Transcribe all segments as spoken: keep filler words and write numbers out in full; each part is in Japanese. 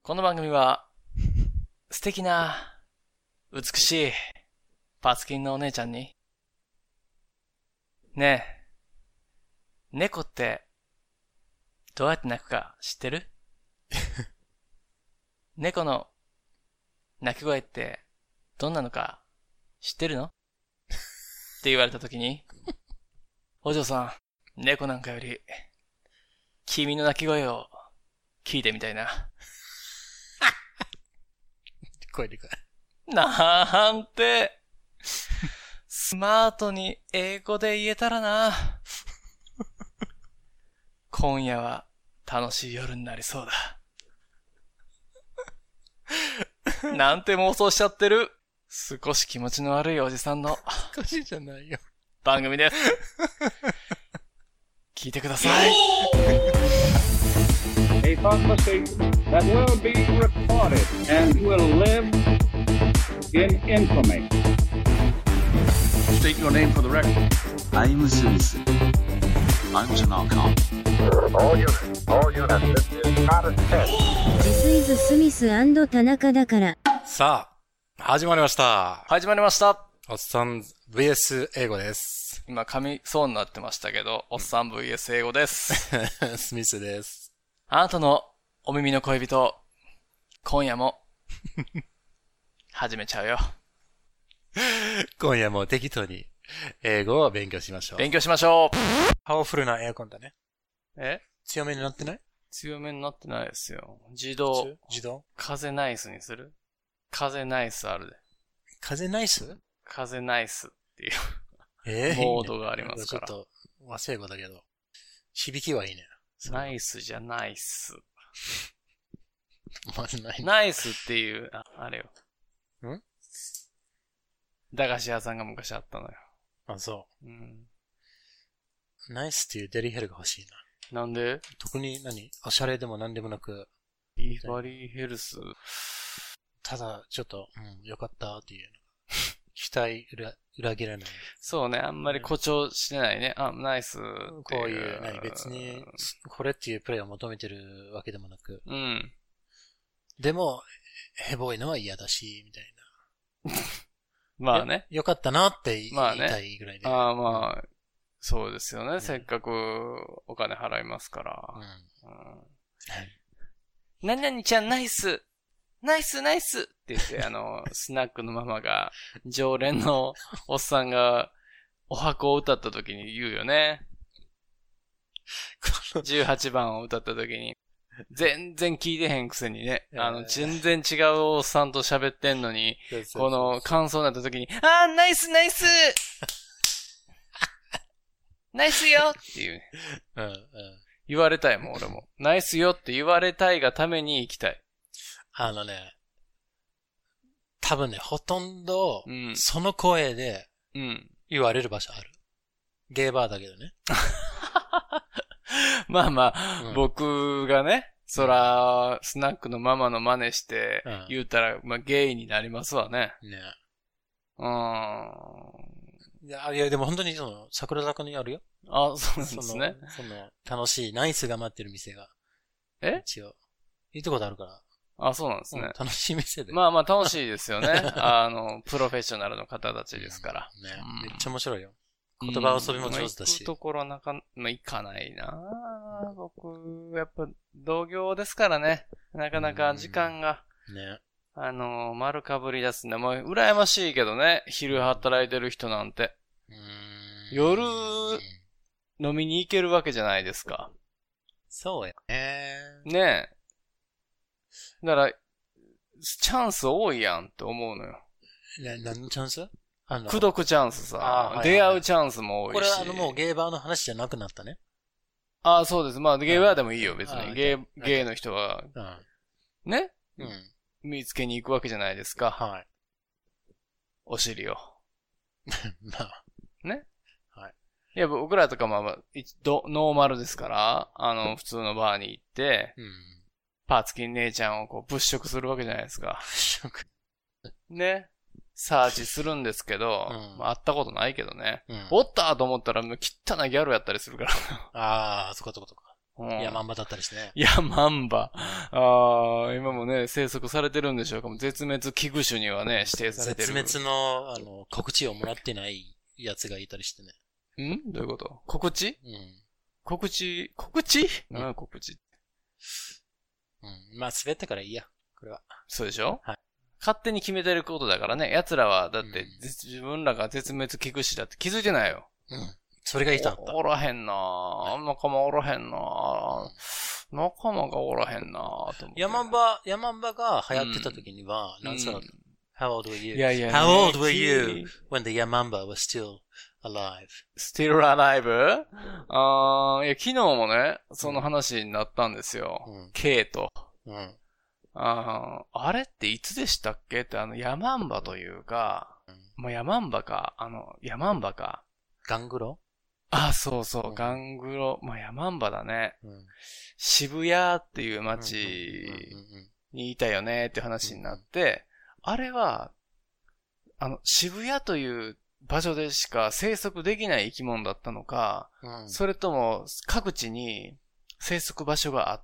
この番組は、素敵な、美しい、パツキンのお姉ちゃんに、ねえ、猫って、どうやって鳴くか知ってる？猫の、鳴き声って、どんなのか、知ってるの？って言われたときに、お嬢さん、猫なんかより、君の鳴き声を、聞いてみたいな。 声でかい。 なんて、スマートに英語で言えたらな。今夜は楽しい夜になりそうだ。なんて妄想しちゃってる。少し気持ちの悪いおじさんのおかしいじゃないよ。 番組です。聞いてください。 A conversation that will be recorded and will live in infamy. State your name for the record. I'm Smith. I'm Tanaka. All units, all units, this is not a test. This is Smith 田中だから。 さあ、始まりました。 始まりました。 おっさん ブイエス 英語です。 今噛みそうになってましたけど、おっさん ブイエス 英語です。 スミスです。 あなたのお耳の恋人、今夜も、始めちゃうよ。 今夜も適当に英語を勉強しましょう。 勉強しましょう。 パワフルなエアコンだね。 え強めになってない？ 強めになってないですよ。自動。 自動？ 風ナイスにする？風ナイスあるで。 風ナイス？ 風ナイスっていう、 えー、 モードがありますから。 ちょっと和製語だけど、響きはいいね。 ナイスじゃナイス。 まずない。 ナイスっていう、あ、あれよ。 ん？ 駄菓子屋さんが昔あったのよ。 あ、そう。 うん。 ナイスっていうデリヘルが欲しいな。なんで？ 特に何？おしゃれでも何でもなく。 ビバリーヘルス。 ただ、ちょっと、うん、よかったっていう。期待裏、裏切らない。 そうね、あんまり誇張してないね。あ、ナイス。 こういう、何、別に、これっていうプレイを求めてるわけでもなく。 うん。 でも、ヘボいのは嫌だし、みたいな。まあね。 よかったなって言いまあね、 たいぐらいで。 ああまあ、そうですよね。うん、せっかくお金払いますから。うん。うん、何々ちゃんナイスナイスナイスって言って、あの、スナックのママが、常連のおっさんが、お箱を歌った時に言うよね。じゅうはちばんを歌った時に、全然聞いてへんくせにね、あの、全然違うおっさんと喋ってんのに、この感想になった時に、あー、ナイスナイスナイスよっていう、ね。 うんうん、 言われたいもん、俺も。ナイスよって言われたいがために行きたい。 あのね、多分ね、ほとんど、その声で、言われる場所ある。うん、ゲーバーだけどね。 まあまあ、うん、僕がね、そら、スナックのママの真似して、言うたら、まあ、ゲイになりますわね。 ね。 うーん。 いや、いや、でも本当にその、桜坂にあるよ。 あ、そうなんですね。 その、その楽しい、ナイスが待ってる店が。 え？ 一応。いいとこであるから。 あ、そうなんですね。 うん、楽しい店で。 まあまあ楽しいですよね。あの、プロフェッショナルの方たちですから。 うん、ね、うん、めっちゃ面白いよ。言葉遊びも上手だし。 行くところなか、まあ、行かないな僕、やっぱ、同業ですからね。なかなか時間が。 ね。 あの、丸かぶり出すんで、もう、羨ましいけどね。昼働いてる人なんて。 うーん夜、飲みに行けるわけじゃないですか。 そうやね。 ねえ。だから、チャンス多いやんって思うのよ。 な、何のチャンス？あの、 口説くチャンスさ、 はいはい、 出会うチャンスも多いし。 これはあのもうゲーバーの話じゃなくなったね。 ああ、そうです。まあゲーバーでもいいよ、別に。ゲー、ゲーの人が、 うん、 ね、 うん、 見つけに行くわけじゃないですか。 はい。 お尻を。 まあ。 ね。 はい。 いや、僕らとかも、まあ、ノーマルですから、あの、普通のバーに行って、 うん、 パーツキン姉ちゃんをこう物色するわけじゃないですか。 物色ね。サーチするんですけど、 うんまあ、会ったことないけどね。 うん、 おったと思ったらもう汚いギャルやったりするから。 ああ、そこそこそこ。 うん、ヤマンバだったりしてね。 ヤマンバ。ああ、今もね、生息されてるんでしょうか。絶滅危惧種にはね、指定されてる。 絶滅の、あの、告知をもらってないやつがいたりしてね。んどういうこと？告知？うん。告知、告知？うん、告知。 うん。まあ、滑ったからいいや。これは。 そうでしょ？ はい。 勝手に決めてることだからね。奴らは、だって、うん、自分らが絶滅危惧種だって気づいてないよ。 うん。それがいたんだ。 お, おらへんなぁ。仲間おらへんなぁ。仲間がおらへんなぁ。と思ってヤマンバ、ヤマンバが流行ってた時には、何歳だった ?How old were you? いやいや、 How old were you when the Yamamba was still alive? Still alive? あー、いや、昨日もね、その話になったんですよ。うん、K と。うん、あ, あれっていつでしたっけって、あの、ヤマンバというか、うん、もうヤマンバか、あの、ヤマンバか。 ガングロあ、そうそう、うん、ガングロ、まあ、ヤマンバだね。うん、渋谷っていう街にいたよねって話になって、うんうん、あれは、あの、渋谷という場所でしか生息できない生き物だったのか、うん、それとも各地に生息場所があって、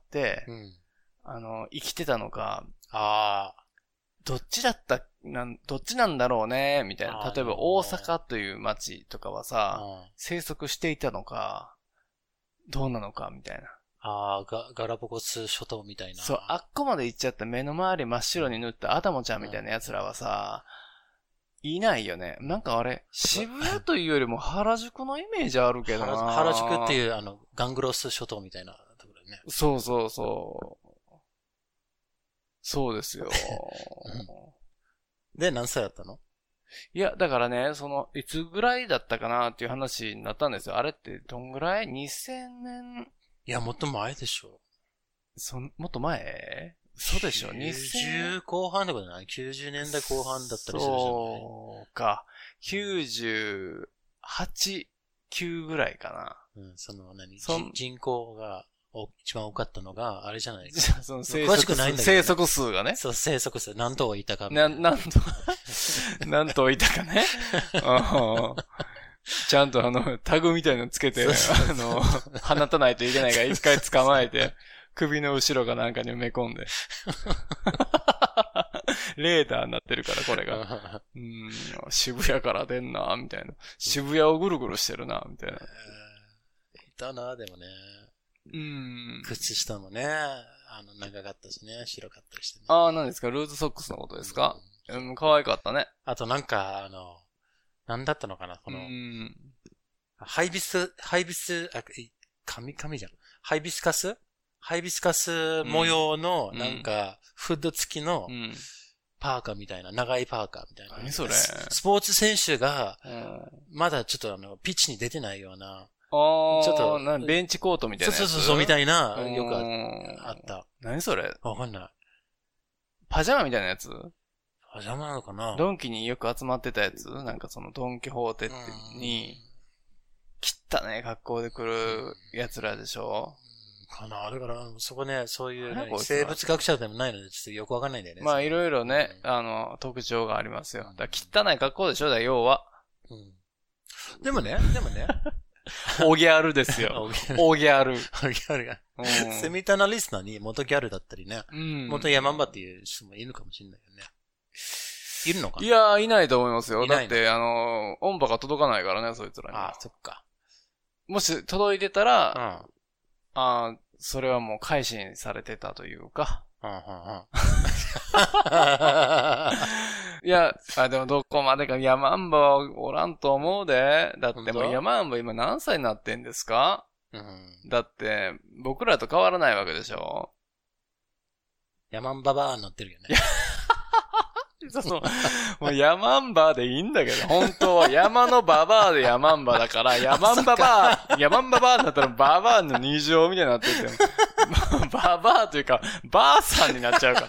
うん、あの、生きてたのか、ああ、どっちだった、なん、どっちなんだろうね、みたいな。例えば大阪という街とかはさ、生息していたのか、どうなのか、みたいな。 ああ、ガ、ガラパゴス諸島みたいな。 そう、あっこまで行っちゃった目の周り真っ白に塗ったアタモちゃんみたいな奴らはさ、いないよね。なんかあれ、渋谷というよりも原宿のイメージあるけどな。 原宿っていう、あの、ガングロス諸島みたいなところね。 そうそうそう。そうですよ。 で、何歳だったの？ いや、だからね、その、いつぐらいだったかなっていう話になったんですよ。あれってどんぐらい ?にせんねん。 いや、もっと前でしょ。 そ、もっと前？そうでしょ。 きゅうじゅう後半ってことない？ きゅうじゅうねんだいこう半だったりするじゃない？ そうか。きゅうじゅうはち、きゅうぐらいかな。うん、その何、そ人口が一番多かったのが、あれじゃないか。 その生息詳しくないんだけど、ね、生息数がね。 そう、生息数。何頭いたかな、何頭、何頭いたかね。ちゃんとあの、タグみたいなのつけて、あの、放たないといけないから一回捕まえて、首の後ろかなんかに埋め込んで。レーダーになってるから、これが。うん、渋谷から出んな、みたいな。渋谷をぐるぐるしてるな、みたいな。 えー、いたな、でもね。 うん。 靴下もね、あの、長かったしね、白かったりしてね。 ああ、何ですか？ルーズソックスのことですか？うん、可愛かったね。 あとなんか、あの、なんだったのかなこの、うん、ハイビス、ハイビス、あ、紙、紙じゃん。ハイビスカスハイビスカス模様の、なんか、フッド付きの、パーカーみたいな、長いパーカーみたいな。 何それ？ スポーツ選手が、まだちょっとあの、ピッチに出てないような、 ちょっと、なベンチコートみたいなやつ。 そうそうそう、みたいな、よくあった。 何それ？ わかんない。 パジャマみたいなやつ？ パジャマなのかな？ ドンキによく集まってたやつ？なんかそのドンキホーテに、汚ね格好で来る奴らでしょ？ かな。だから、そこね、そういう、ね、生物学者でもないので、ちょっとよくわかんないんだよね。 まあ、いろいろね、うん、あの、特徴がありますよ。だから汚い格好でしょ？だ要は。 うん。でもね、でもね。 オギャルですよ。オギャル。オギャルが。うん、セミタナリスナーに元ギャルだったりね。うん、元ヤマンバっていう人もいるかもしれないよね。いるのかな？ いやー、いないと思いますよ。だって、あの、音波が届かないからね、そいつらに。 ああ、そっか。 もし届いてたら、うん、ああ、それはもう改心されてたというか。うんうんうん、いや、あ、でもどこまでかヤマンバはおらんと思うで。だってもうヤマンバ今何歳になってんですか？うん、だって、僕らと変わらないわけでしょ？ ヤマンババーになってるよね。 そうそう。もうヤマンバでいいんだけど、本当は山のババアでヤマンバだから、ヤマンババア、ヤマンババアになったらババアの二乗みたいになってて、ババアというか、ばあさんになっちゃうから。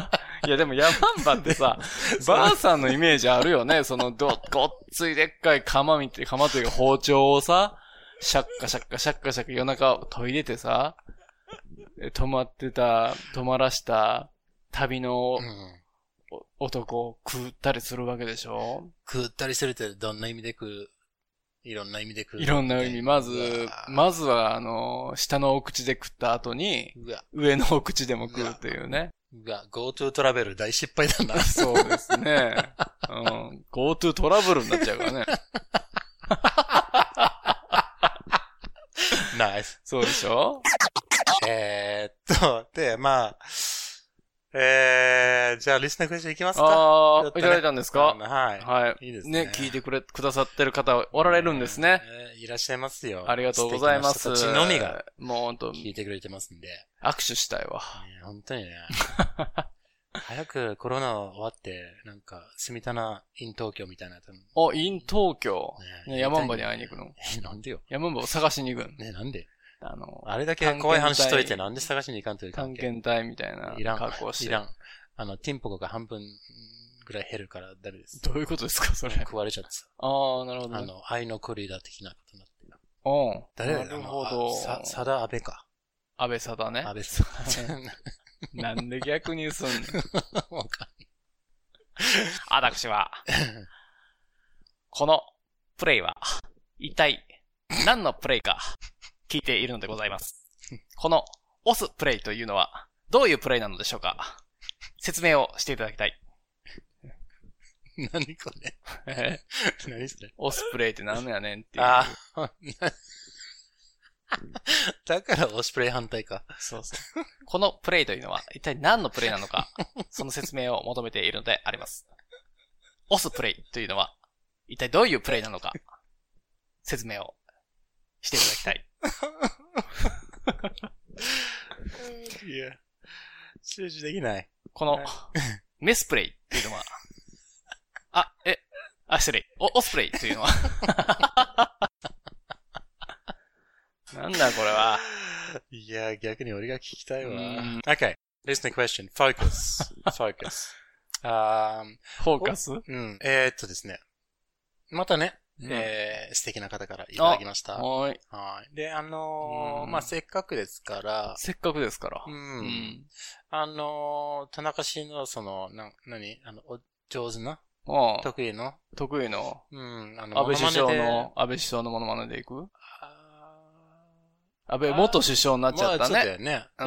いやでもヤマンバってさ、ばあさんのイメージあるよね。そのど、ごっついでっかい釜みて、釜というか包丁をさ、シャッカシャッカシャッカシャッカ夜中研いでてさ、止まってた、止まらした旅の、うん男を食ったりするわけでしょ？ 食ったりするってどんな意味で食ういろんな意味で食う。 いろんな意味。まず、まずは、あの、下のお口で食った後に、上のお口でも食うというね。 うわ、GoTo トラベル大失敗だな。 そうですね。うん。GoTo トラブルになっちゃうからね。 ナイス。 そうでしょ？ えーっと、で、まあ、えー、じゃあリスナークエスチョンいきますか？ ああ、 ね、 いただいたんですか？ はい。 はい。 いいですね。 ね、聞いてくれ、くださってる方おられるんですね。 えー、いらっしゃいますよ。 ありがとうございます。 こっちのみが、 もう本当聞いてくれてますんで。 握手したいわ。 ね、本当にね。早くコロナ終わって、なんか、住谷 in 東京みたいなやつ。 お、in 東京。ね、ね、山んばに会いに行くの。 え、なんでよ。 山んばを探しに行くの。 ね、なんであの、 あれだけ怖い話しといてなんで探しに行かんという関係。探検隊みたいな格好して。 いらん。あの、ティンポコが半分ぐらい減るからダメです。 どういうことですか、それ。 食われちゃってさ。 ああ、なるほど、ね。 あの、愛のクリーダー的なことになってる。 おう。 誰だなるほど。 さ、さだ安倍か。 安倍さだね。 安倍さだ。 なんで逆にすんの？ わかんない。 私は、このプレイは、一体何のプレイか聞いているのでございます。この押すプレイというのは、どういうプレイなのでしょうか？説明をしていただきたい。 何これえ何それ押すプレイって何やねんっていう。 ああ。だからオスプレイ反対か。 そうそう。このプレイというのは一体何のプレイなのか、その説明を求めているのであります。押すプレイというのは一体どういうプレイなのか、説明をしていただきたい。 いや、集中できない。 このメスプレイというのは、あ、え、あ、失礼。お、オスプレイというのは、なんだこれは。 いや、逆に俺が聞きたいわ。Okay. Listening question. Focus. Focus. あフォーカス？ うん。えー、っとですね。またね、うん、えー、素敵な方からいただきました。 はい。 はい。で、あのー、まあ、せっかくですから。 せっかくですから。 うん。うん、あのー、田中氏のその、な、なにあの、お上手なああ得意の得意のうん。あの、 安倍首相の、安倍首相のモノマネでいく？安倍元首相になっちゃったね。 まあ、そうだよね。 うん。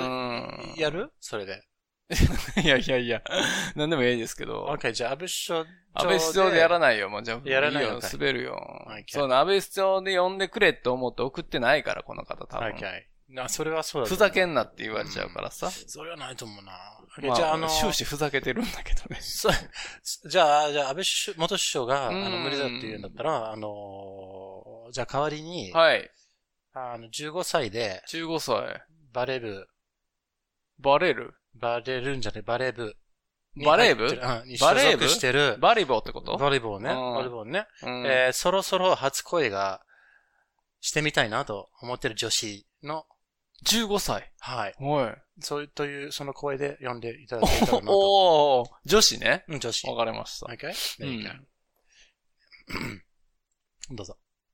やるそれで。 いやいやいや、なんでもいいですけど。 OK、じゃあ安倍首相。 安倍首相でやらないよ、もうじゃあ。 やらないよ。 滑るよ。そうな、安倍首相で呼んでくれって思って送ってないから、この方多分。 OK。な、それはそうだ。 ふざけんなって言われちゃうからさ。うん、 それはないと思うな。 まあ、じゃあ、あの、終始ふざけてるんだけどね。 そう。じゃあ、じゃあ、安倍首元首相が、あの、無理だって言うんだったら、あの、じゃあ代わりに、 はい。 あの、じゅうごさいで、 じゅうごさい。 バレ部。 バレるバレるんじゃねバレー部。 バレー部うん、バレー部してる。 バリボーってことバリボーね。バリボーね。うん、えー、そろそろ初恋がしてみたいなと思ってる女子の。 じゅうごさい。 はい。 はい。 そういう、という、その声で読んでいただけたらなと。 おー、女子ね。 うん、女子。 わかりました。 Okay? There you go. うん、どうぞ。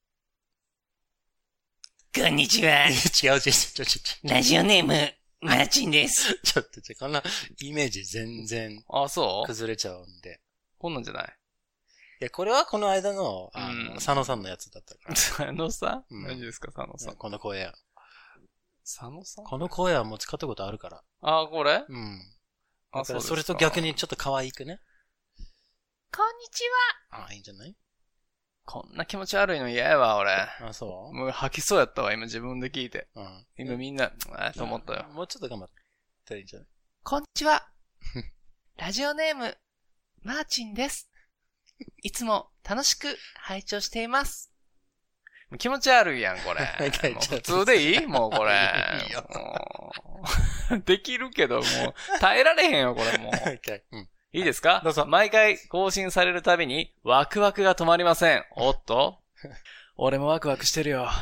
こんにちは。 違う、違う、違う、違う。 ラジオネーム、マーチンです。 ちょっと、こんなイメージ全然、 あ、そう崩れちゃうんで。 こんなんじゃない？ いや、これはこの間の、あの、佐野さんのやつだったから。 佐野さん、うん、何ですか、佐野さん。 この声。 佐野さんこの声はもう使ったことあるから。 あ、これうん。 あ、そうですか。 それと逆にちょっと可愛くね。 こんにちは。あ、いいんじゃない？ こんな気持ち悪いの嫌やわ、俺。 あ、そうもう吐きそうやったわ、今自分で聞いて。 うん。 今みんな、あと思ったよ。 もうちょっと頑張ったらいいんじゃない？ こんにちは。ラジオネーム、マーチンです。いつも楽しく拝聴しています。 気持ち悪いやん、これ。普通でいい？もうこれ。いいよ。できるけど、もう耐えられへんよ、これもう。 okay. うん、 いいですか？ どうぞ。 毎回更新されるたびにワクワクが止まりません。おっと俺もワクワクしてるよ。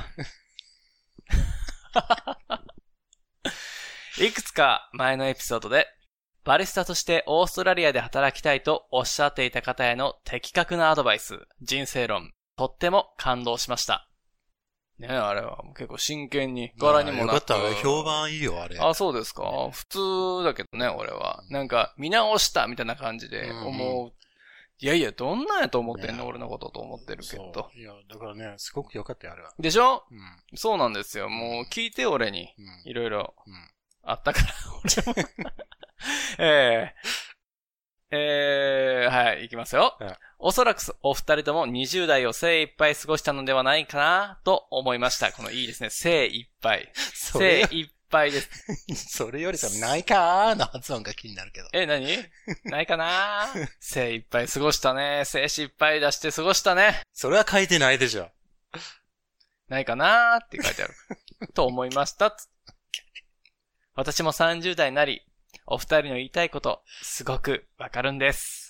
いくつか前のエピソードで、バリスタとしてオーストラリアで働きたいとおっしゃっていた方への的確なアドバイス、人生論、とっても感動しました。ねえ、あれは結構真剣に、柄にもなく。 よかった、評判いいよ、あれ。 あ、そうですか。普通だけどね、俺は。なんか、見直したみたいな感じで思ういやいや、どんなんやと思ってんの、ね、俺のことと思ってるけど。 いや、だからね、すごく良かったよ、あれは。 でしょ、 うん、 そうなんですよ。もう聞いて、俺に。いろいろあったから、俺も。えー、えー、はい、行きますよ。はい、おそらくお二人ともにじゅう代を精一杯過ごしたのではないかなと思いました。このいいですね。精一杯。精一杯です。 それよりさ、ないかーの発音が気になるけど。 え、何ないかなー精一杯過ごしたね。精子いっぱい出して過ごしたね。 それは書いてないでしょ。 ないかなーって書いてある。と思いました。私もさんじゅう代になり、お二人の言いたいこと、すごくわかるんです。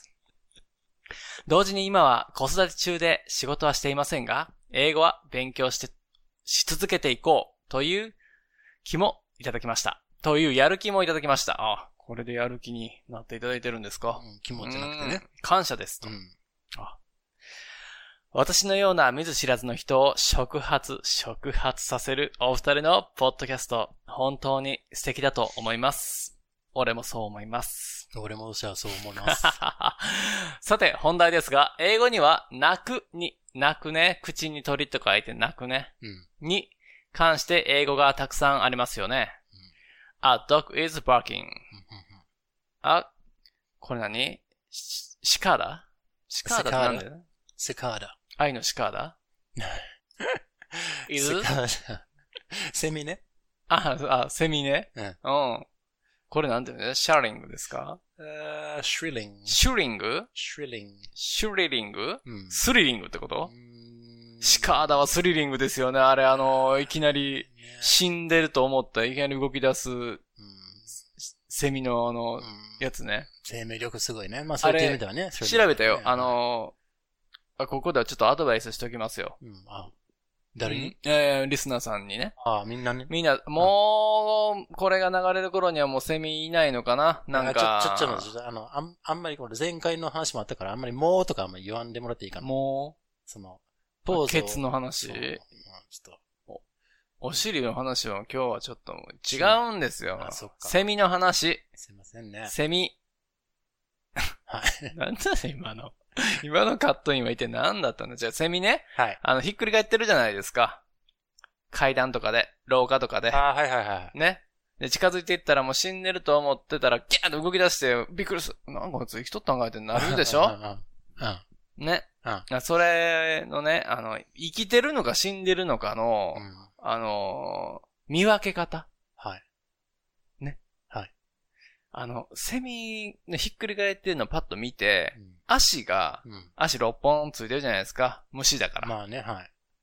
同時に今は子育て中で仕事はしていませんが、英語は勉強して、し続けていこうという気もいただきました。というやる気もいただきました。あ、これでやる気になっていただいてるんですか、 うん、気持ちじゃなくてね。 感謝ですと、 うん、 あ。私のような見ず知らずの人を触発、触発させるお二人のポッドキャスト、本当に素敵だと思います。俺もそう思います。 俺もじゃあそう思います。 さて、本題ですが、英語には泣くに、泣くね、口に鳥と書いて泣くね、 うん、 に関して英語がたくさんありますよね。うん、A dog is barking. あ、これ何？シカーダ？シカーダってなんだよ？ シカーダ。 愛のシカーダいる？ セミね。 あ、あ、セミね。 うん。 うん。これなんていうの？シャーリングですか？ uh, シュリング。 シュリング？ シュリング。 シュリリング？ うん、 スリリングってこと？シカーダはスリリングですよね。あれ、あの、いきなり死んでると思ったらいきなり動き出す、うん、セミのあの、うん、やつね。 生命力すごいね。まあ、そういう意味ではね。 調べたよ。あの、あ、ここではちょっとアドバイスしときますよ。 うん、あ、誰に？ うん、えー、リスナーさんにね。 ああ、みんなね。 みんな、もう、これが流れる頃にはもうセミいないのかな？なんか。 ちょ、ちょ、ちょっと、あの、あん、あんまりこれ前回の話もあったから、あんまりもうとかあんまり言わんでもらっていいかな。 もうその、 ポーズ。ケツの話。 ちょっと。 お、お尻の話は今日はちょっと違うんですよ。 あ、そっか。 セミの話。 すいませんね。 セミ。 はい。 なんだね、今の。今のカットインは一体何だったんだ？じゃあ、セミね。 はい。 あの、ひっくり返ってるじゃないですか。階段とかで、廊下とかで。 ああ、はいはいはい。 ね。で、近づいていったらもう死んでると思ってたら、ギャーッと動き出して、びっくりする。なんかこいつ生きとったんかいってなるでしょ？ うん。 ね。うん。それのね、あの、生きてるのか死んでるのかの、うん、あのー、見分け方。 はい。 ね。 はい。 あの、セミのひっくり返ってるのをパッと見て、うん、足が、 うん、 足ろっぽんついてるじゃないですか。虫だから。 まあね、はい。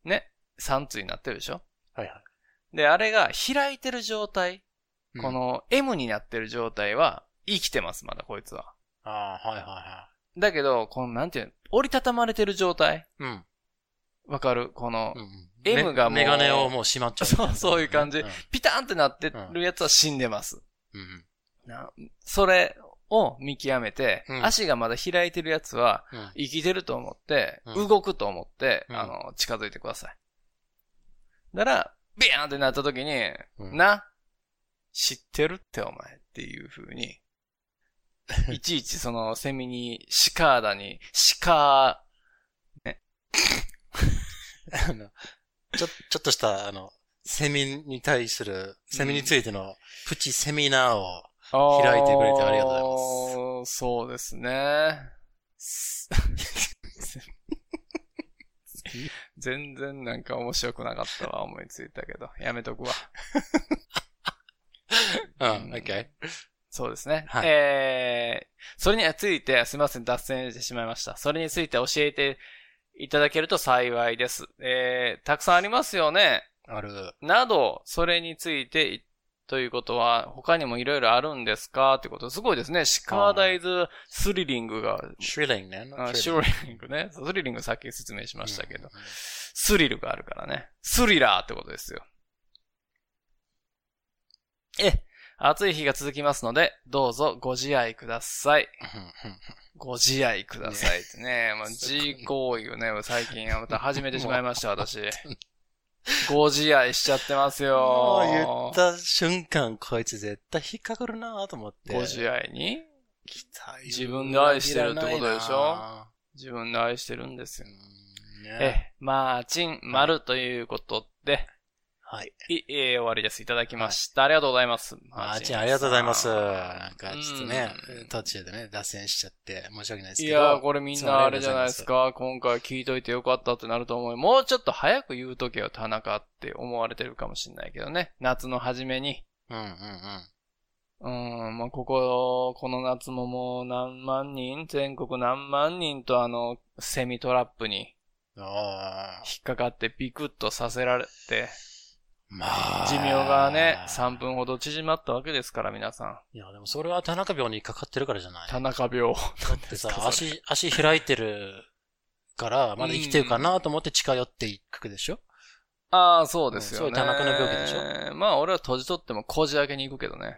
ね。さん対になってるでしょ？ はいはい。 で、あれが開いてる状態、うん、この M になってる状態は生きてます、まだこいつは。 ああ、はいはいはい。 だけど、このなんていうの、折りたたまれてる状態。 うん。 わかる？この、 うん、 M がもう。 メガネをもう閉まっちゃう。 そう、そういう感じ。うん、ピターンってなってるやつは死んでます。 うん。 なそれを見極めて、うん、足がまだ開いてるやつは、生きてると思って、うん、動くと思って、うん、あの、近づいてください。だから、ビーンってなった時に、うん、な、知ってるってお前っていう風に、いちいちそのセミに、シカーダに、シカー、ね。 あの、ちょ、ちょっとした、あの、セミに対する、セミについてのプチセミナーを開いてくれてありがとうございます。 そうですね。全然なんか面白くなかったわ、思いついたけど。やめとくわ。 うん、OK。 そうですね。 はい、 えー、それについて、すみません、脱線してしまいました。それについて教えていただけると幸いです。えー、たくさんありますよね。 ある。 など、それについて、ということは、他にもいろいろあるんですかってこと、すごいですね。シカーダイズスリリングが。 シュリリングね。 あ、シュリリングね。スリリングさっき説明しましたけど。うんうん、スリルがあるからね。スリラーってことですよ。え、暑い日が続きますので、どうぞご自愛ください。ご自愛くださいってね。まあ、G 行為をね、最近また始めてしまいました、私。ご自愛しちゃってますよ。 もう言った瞬間、こいつ絶対引っかかるなと思って。 ご自愛に自分で愛してるってことでしょ？ 自分で愛してるんですよ。 ね、 え、マーチン、丸ということで、 はい。 い、えー、終わりです。いただきました。はい、ありがとうございます。 マーチン、ありがとうございます。なんか、ちょっとね、途中でね、脱線しちゃって、申し訳ないですけど。 いやー、これみんなあれじゃないですか。今回聞いといてよかったってなると思う。もうちょっと早く言うとけよ、田中って思われてるかもしれないけどね。夏の初めに。 うんうんうん。うん、まあ、ここ、この夏ももう何万人、全国何万人とあの、セミトラップに、引っかかってビクッとさせられて、 まあ。 寿命がね、さんぷんほど縮まったわけですから、皆さん。 いや、でもそれは田中病にかかってるからじゃない？ 田中病。 だってさ、足、足開いてるから、まだ生きてるかなと思って近寄っていくでしょ？ ああ、そうですよね。 そういう田中の病気でしょ？ まあ、俺は閉じとってもこじ開けに行くけどね。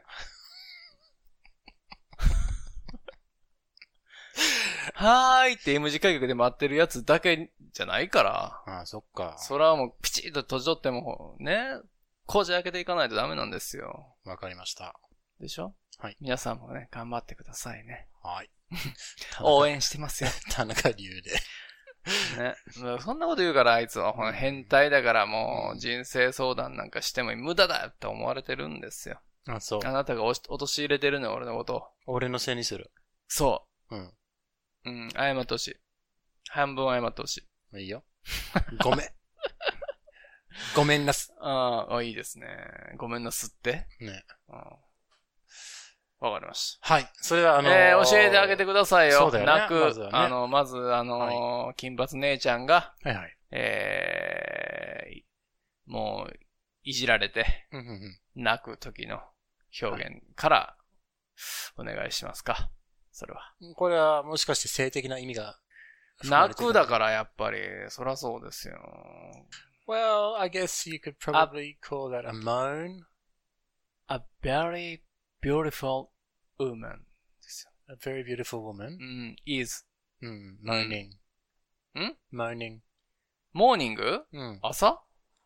はーいって M 字開脚で待ってるやつだけじゃないから。 ああ、そっか。 それはもうピチッと閉じとっても、ね、こじ開けていかないとダメなんですよ。 わかりました。 でしょ？ はい。 皆さんもね、頑張ってくださいね。 はい。 応援してますよ。 田中流で。 ね。そんなこと言うからあいつは変態だからもう人生相談なんかしても無駄だって思われてるんですよ。 あ、そう。 あなたが陥れてるのよ、俺のことを。 俺のせいにする。 そう。 うん。 うん、謝ってほしい。半分謝ってほしい。 いいよ。ごめん。ごめんなす。 ああ、いいですね。ごめんなすって。 ね。 うん。わかりました。 はい。それはあのー、 えー、教えてあげてくださいよ。 そうだよね。 泣く、 まずはね、 あの、まず、あのーはい、金髪姉ちゃんが、 はいはい。 えー、もう、いじられて、 うんうんうん、 泣く時の表現からお願いしますか。それは。 これはもしかして性的な意味が泣くだからやっぱり、そらそうですよ。 Well, I guess you could probably call that a moan. A very beautiful woman ですよ。A very beautiful woman? うん、is. うん、moaning. ん ?moaning. モーニングうん。朝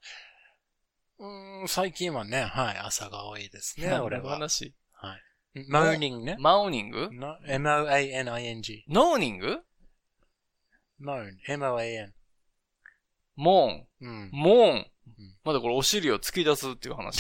うん、最近はね、はい、朝が多いですね、俺は。 話はい。moaning ね。 マウニング ?M O A N I N G。 ノーニング moan。M O A N。 モーン。 うん。 モーン。うん、まだこれお尻を突き出すっていう話。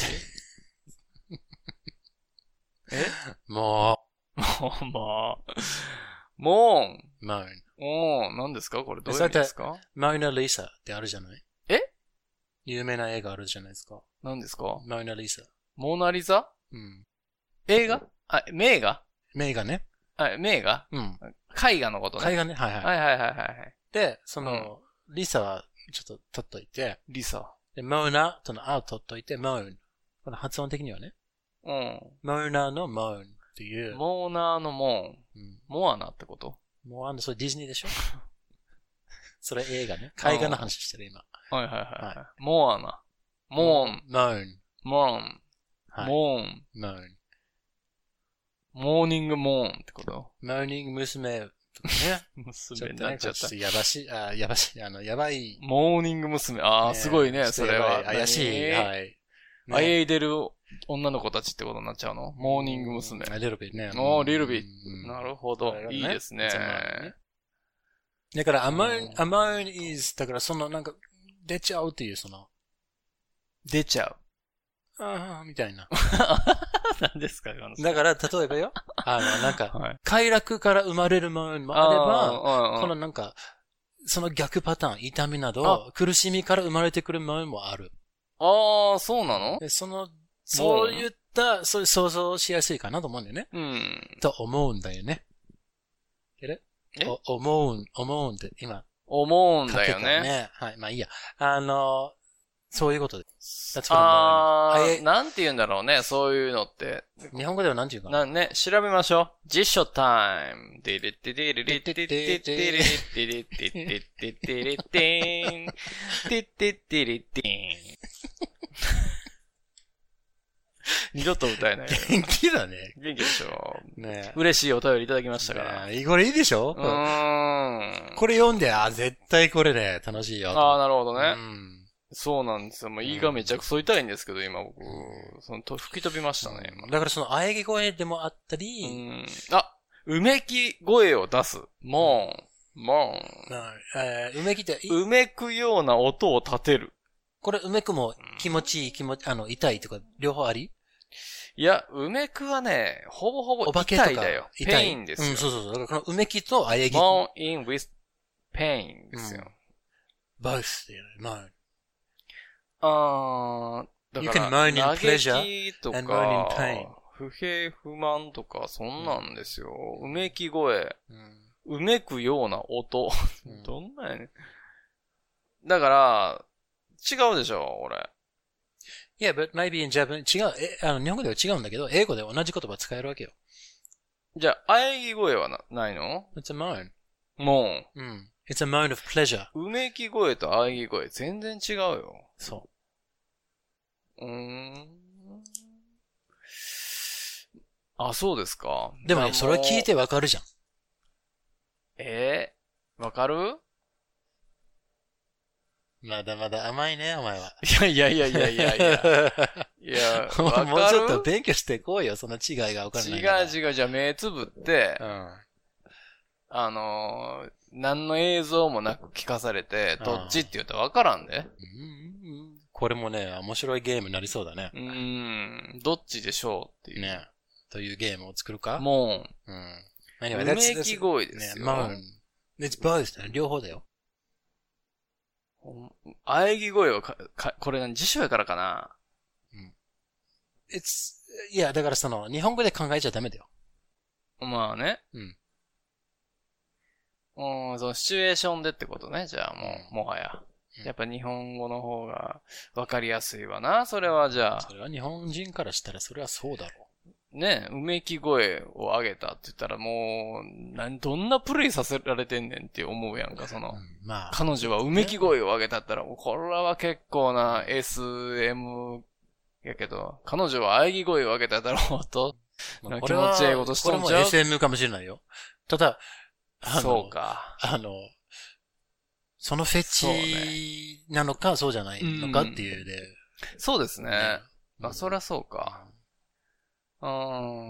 えもう。もう、まあ。モーン。 moan。 おー、何ですかこれどういう意味ですかモーナリサってあるじゃないえ有名な映画あるじゃないですか。 何ですかモーナリサ。 モーナリザうん。 映画あ、名画名画ね。 あ、名画うん。 絵画のことね。 絵画ね。はいはい。 はいはいはいはい。 で、その、うん、リサはちょっと取っといて。 リサ。 で、モーナとのあを取っといて、モーン。この発音的にはね。 うん。 モーナのモーンっていう。 モーナーのモーン。うん、モアナってことモアナ、それディズニーでしょそれ映画ね。絵画の話してる今。 はいはいはい。はい、モアナ。モーン。 モーン。 モーン。モーン。 モーン。 モーニングモーンってことモーニング娘。とかね。 娘になっちゃった。 やばし、あ、やばし、あの、やばい。 モーニング娘。ああ、すごいね、それは。 怪しい。はい。 あえいでる女の子たちってことになっちゃうのモーニング娘。 あ、リルビーね。 おー、リルビー。なるほど。いいですね。 だから、アモーン、アモーン is、だからそのなんか、出ちゃうっていうその。 出ちゃう。 ああ、みたいな。 何ですかだから、例えばよ。あの、なんか、はい、快楽から生まれるものもあれば、このなんか、その逆パターン、痛みなど、苦しみから生まれてくるものもある。 ああ、そうなの？ でその、そういった、そういう想像しやすいかなと思うんだよね。 うん。 と思うんだよね。えお思うん、思うんって今。 思うんだよね。 ね。はい。まあいいや。あの、そういうことです。 あー、なんて言うんだろうね、そういうのって。 日本語ではなんて言うかな。 なね、調べましょう。実書タイム。デレテデレレテテテテレテレテテテテレテン。テテテレテン。二度と歌えない。 元気だね。 元気でしょ。 ね嬉しいお便りいただきましたから。 これいいでしょ？ うーん。 これ読んで、あ、絶対これね、楽しいよ。 ああ、なるほどね。 うん。 そうなんですよ。もう胃がめちゃくそ痛いんですけど、今僕、そのと吹き飛びましたね。 だからその喘ぎ声でもあったり、 うん、あ、うめき声を出す。も moan。 えー、うめきって、 うめくような音を立てる。 これ、うめくも気持ちいい、気持ち、あの、痛いとか、両方あり？ いや、うめくはね、ほぼほぼ痛いだよ。ペインですよ。 うん、そうそうそう。だからこのうめきとあえぎ。 moan in with pain ですよ。 うん、both っていうの、moan。 あー、だから、 moan in pleasure 嘆きとか、不平不満とか、そんなんですよ。うめき声。うん、うめくような音。うん、どんなんやねん。だから、違うでしょ、俺。 Yeah, but maybe in Japanese, 違う、え、あの、日本語では違うんだけど、英語で同じ言葉使えるわけよ。 じゃあ、あえぎ声はな、ないの？ It's a moan. moan. うん。It's a moan of pleasure. うめき声とあえぎ声、全然違うよ。 そう。 うーん。あ、そうですか。 でもね、それ聞いてわかるじゃん。 えー、わかる？ まだまだ甘いね、お前は。 いやいやいやいやいやいや。いや、わかる？ もうちょっと勉強してこいよ、その違いがわかんない。 違う違う、じゃあ目つぶって、 うん、 あのー、何の映像もなく聞かされて、どっちって言うとわからんで、うん。 これもね、面白いゲームになりそうだね。 うーん、どっちでしょうっていう。 ね。というゲームを作るか？ もう、 うん。 anyway, うめき声ですよ。 ね、moan. It's both ね、両方だよ。 あえぎ声はか、か、これ何辞書やからかな？ うん。It's, いや、だからその、日本語で考えちゃダメだよ。 まあね。 うん。 うん、そのシチュエーションでってことね、じゃあもう、もはや。やっぱ日本語の方がわかりやすいわな、それはじゃあ。 それは日本人からしたらそれはそうだろう。 ね、うめき声を上げたって言ったらもう、なんどんなプレイさせられてんねんって思うやんか、その。うん、まあ。彼女はうめき声を上げたったら、これは結構な エスエム やけど、彼女は喘ぎ声を上げたったらもっと、まあ、気持ちいいことしとんちゃう？ これも エスエム かもしれないよ。ただ、 あのそうか。 あの、そのフェチなのか、そうじゃないのかっていうで。 そうですね。ね、まあ、そりゃそうか。うん。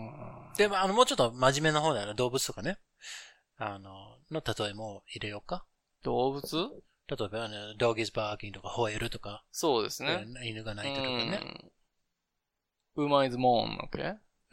でも、あの、もうちょっと真面目な方だよね。動物とかね。あの、の例えも入れようか。 動物？ 例えば、あの、dog is barking とか、吠えるとか。 そうですね。 犬が鳴いてるとかね。 馬 is moan, okay?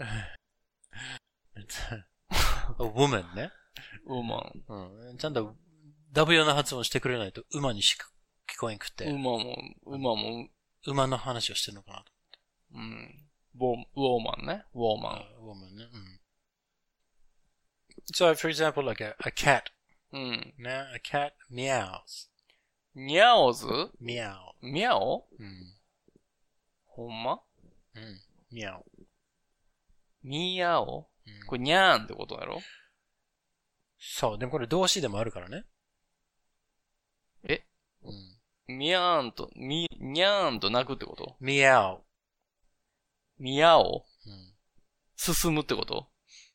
a woman ね。 馬。 うん。ちゃんと W の発音してくれないと馬にしか聞こえんくて。 馬も、馬も。 馬の話をしてるのかなと思って。うん。ウォーマンね。ウォーマン。 ウォーマンね。うん。So, for example, like a, a cat. うん。 ね。A cat meows. ニャオズ？ ミャオ。 ミャオ？ うん。 ほんま？ うん。ミャオ。 ミヤオ？うん、これニャーンってことだろ？ そう。でもこれ動詞でもあるからね。 え？うん。ミヤーンと、ミ、ニャーンと鳴くってこと？ ミヤオ。 ミヤオ？ うん。 進むってこと？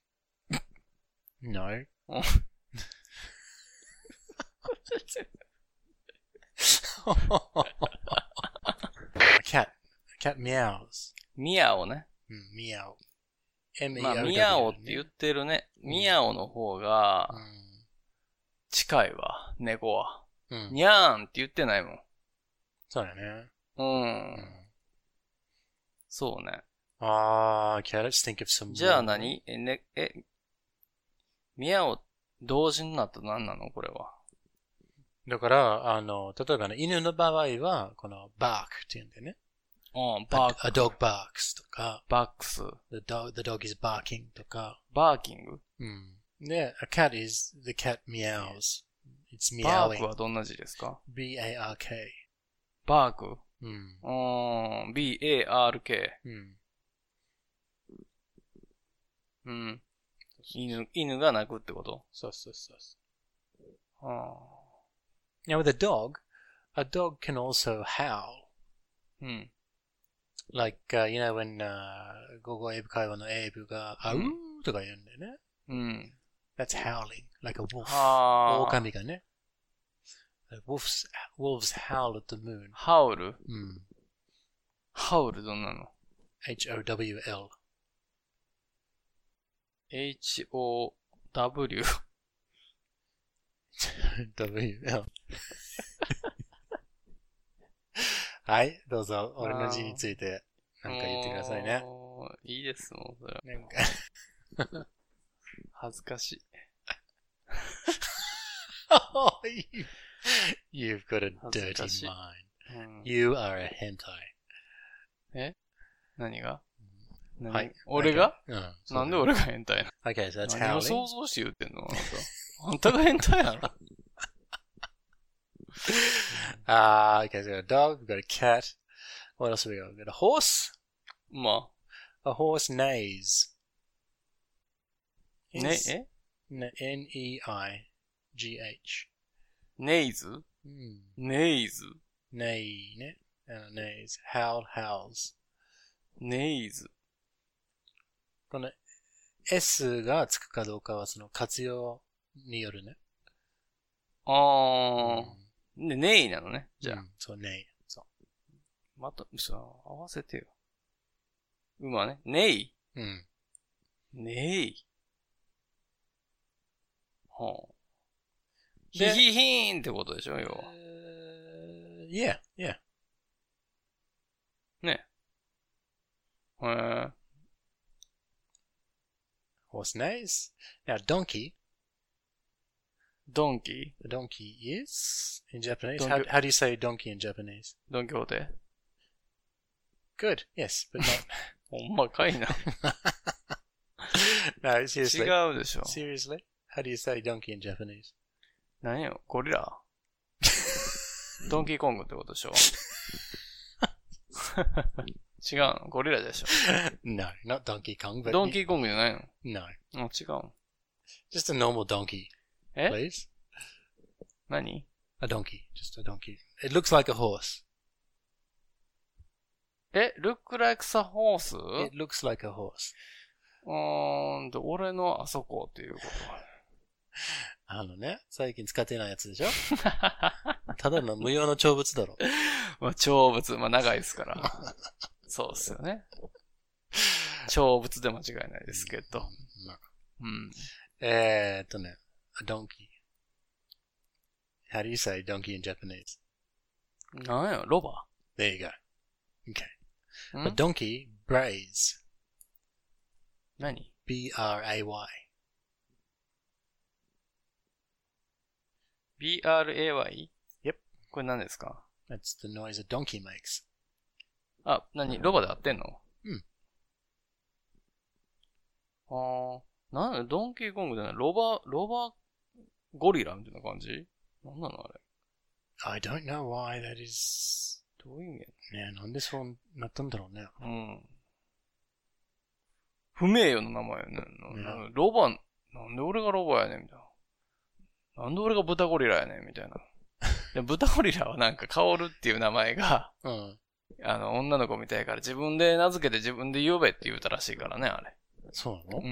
No. A cat. A cat meows. ミヤオね。 うん、ミヤオ。 まあ、ミヤオって言ってるね。ミヤオの方が、近いわ、猫は。うん、ニャーンって言ってないもん。 そうだね。 うん。うん、そうね。 あー、okay, let's think of some. じゃあ何え、ね、え、ミヤオ同時になったら何なのこれは。 だから、あの、例えばね、犬の場合は、この bark って言うんだよね。 うん、bark. A, a dog barks とか。 barks. The dog, the dog is barking とか。 barking? うん。で、a cat is, the cat meows. It's meowing. bark はどんな字ですか？ B-A-R-K. bark? うん。 うん、B-A-R-K. うん。 うん。犬、犬が鳴くってこと？ そうそうそう。 はあ。 Now with a dog, a dog can also howl. うん。 Like, uh, you know, when, uh, 午後英語会話の英語が、あうーとか言うんだよね。 うん。 That's howling, like a wolf. はあ。 狼がね。Wolves, wolves howl at the moon. ハウル？ うん。 ハウルどんなの？ エイチ オー ダブリュー エル。 エイチ オー ダブリュー W。はい、どうぞ、俺の字について、なんか言ってくださいね。 もういいです、もうそれは。 なんか恥ずかしい。 oh, you, you've got a 恥ず dirty かしい。 mind. うん、 You are a hentai. え何が何はい。 俺が、 うん。 なんで俺が変態な Okay, so that's の何を howling. 想像して言ってんのあなた。あんたが変態なの Ah, okay, so we've got a dog, we've got a cat. What else have we got? We've got a horse. ま A horse neighs. あ、ね、え N E I G H. ネイズ Hmm. ネイズ Neigh ね。Uh, neighs. Howl, howls. ネイズ。 この S がつくかどうかはその活用によるね。 あー。で、ネイなのね。じゃあ。 うん、そう、ネイ。そまた、さ、合わせてよ。馬ね。ネイ。 う。うん。 ネイ。はあ。ヒでヒヒーンってことでしょ、要は。 Uh, yeah, yeah. ね。へー。 Horse neighs. Now, donkey. ドンキ The donkey is in Japanese. Donkey. How, how do you say donkey in Japanese? ードンキホーテ Good. Yes, but not. ほんまかいな。 no, seriously. 違うでしょ。 Seriously? How do you say donkey in Japanese? 何よ、ゴリラドンキーコングってことでしょ違うのゴリラでしょ No, not Donkey Kong, but ドンキーコングじゃないの no, あ、違うの just a normal donkey, え please. 何 A donkey, just a donkey. It looks like a horse. え、look like a horse? It looks like a horse. うーんと、俺のあそこっていうこと。 あのね、最近使ってないやつでしょただの無用の長物だろ。 まあ、長物、まあ長いですから。そうですよね。長物で間違いないですけど。 まあうん。 えーっとね、a donkey. How do you say donkey in Japanese? なんや、ロバ There you go. Okay. ん A donkey brays. 何 B R A Y. ?ビーアールエーワイ? Yep. これ何ですか That's the noise a donkey makes. あ、何ロバで合ってんのうん。 あー、なんだ、ドンキーコングじゃないロバ、ロバゴリラみたいな感じなんなのあれ。 I don't know why that is... どういう意味やねえ、なんでそうなったんだろうね。 うん。不名誉の名前やね。なねロバ、なんで俺がロバやねんみたいな。なんで俺が豚ゴリラやねんみたいな。で豚ゴリラはなんかカオルっていう名前が、 うん。 あの、女の子みたいから自分で名付けて自分で呼べって言うたらしいからね、あれ。 そうなのうん。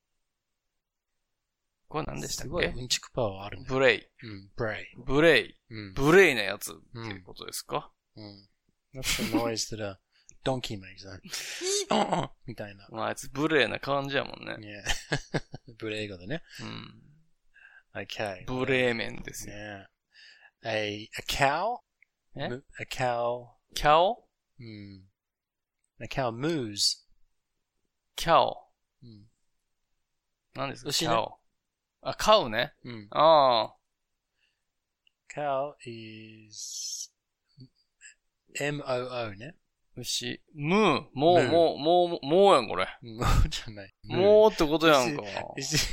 これ何でしたっすごいけうんちくパワーあるね。 ブレイ。 うん、ブレイ。 ブレイ。 うん。 ブレイなやつっていうことですか、 うん。That's the noise that a donkey makes. ねみたいな。 まあ、あいつブレイな感じやもんね。 ねブレイ語でね。 うん。 Okay. ブレーメンですよ。 ね A, a cow? え A cow. キャオうん。A cow moos. キャオ。 うん。 何ですか牛ねキャオ。あ、カウね。 うん。 ああ。 cow is M O O ね。 牛。ムー。もう、 ムーもう、もう、もうやん、これ。 もうじゃない。 もうってことやんか。 This is,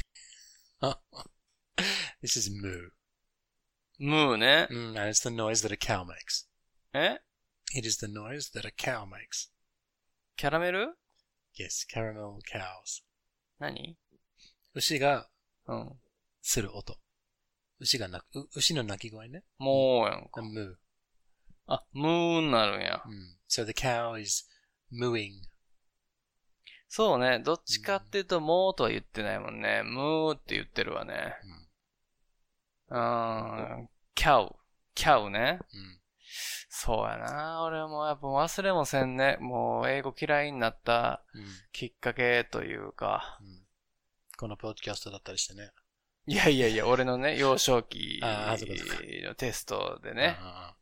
this is moo. ムーね。 Mm, and it's the noise that a cow makes. え It is the noise that a cow makes. キャラメル Yes, caramel cows. 何牛がうん。 する音。牛が鳴く、う牛の鳴き声ね。 もうやんか。 moo. あ、ムーになるんや。 Mm. So the cow is mooing. そうね。どっちかっていうと、もうとは言ってないもんね。ムーって言ってるわね。うーん。キャウ。キャウね。 Mm. そうやな。俺はもうやっぱ忘れもせんね。もう英語嫌いになった Mm. きっかけというか。 Mm. このポッドキャストだったりしてね。 いやいやいや、俺のね、幼少期のテストでね、